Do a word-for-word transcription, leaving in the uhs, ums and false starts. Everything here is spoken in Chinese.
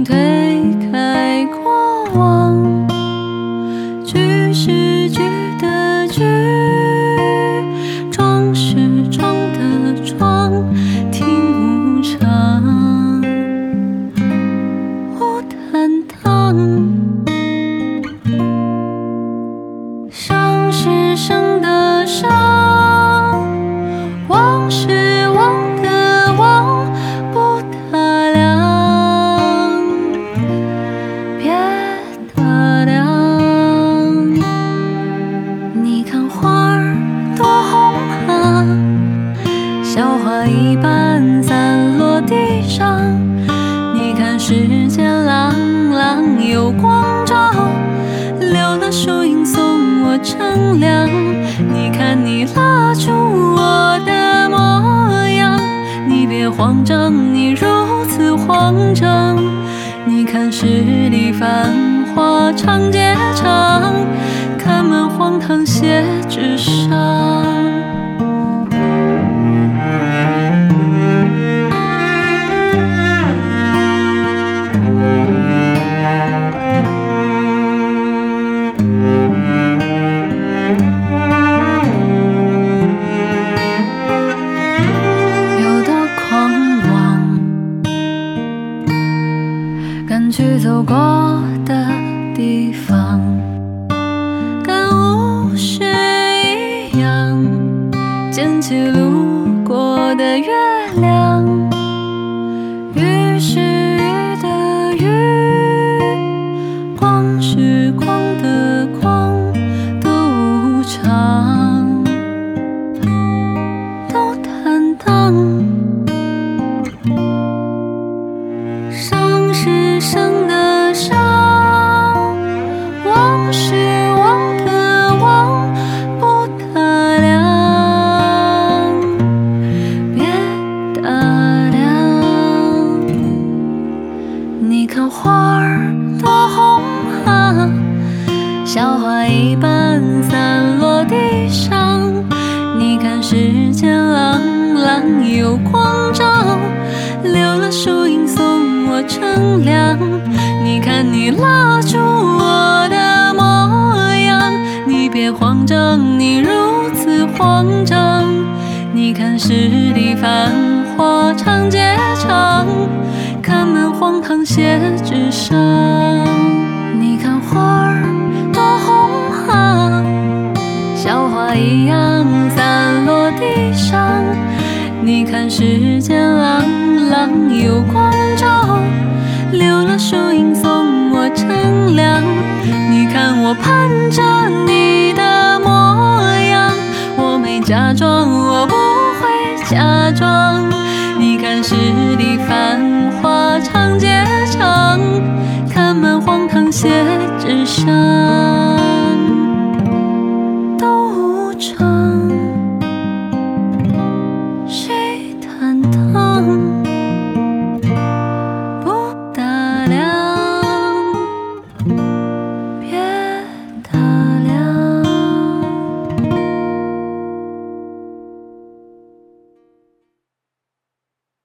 推开过往，句是句的句，装是装的装，听无常，无坦荡。伤是伤的伤，忘是忘的忘，不打量，别打量。你看花儿多红啊，小花一般散落地上。你看世间朗朗有光照，留了树荫送我乘凉。你看你拉住我的模样，你别慌张，你如此慌张。你看十里繁华长街长，看满荒唐写纸上。去走过的地方，跟物是一样，捡起路过的月亮。雨是雨的雨，光是光的光，都无常，都坦荡。伤是伤的伤，忘是忘的忘，不打量，别打量。你看花儿多红啊，小花一般散落地上。你看世间朗朗有光照，留了树荫送我乘凉。你看你拉住我的模样，你别慌张，你如此慌张。你看十里繁华长街长，看满荒唐写纸上。你看花儿多红啊，小花一样散落地上。你看世间朗朗有光照，留了树荫送我乘凉。你看我盼着你的模样，我没假装，我不会假装。你看十里繁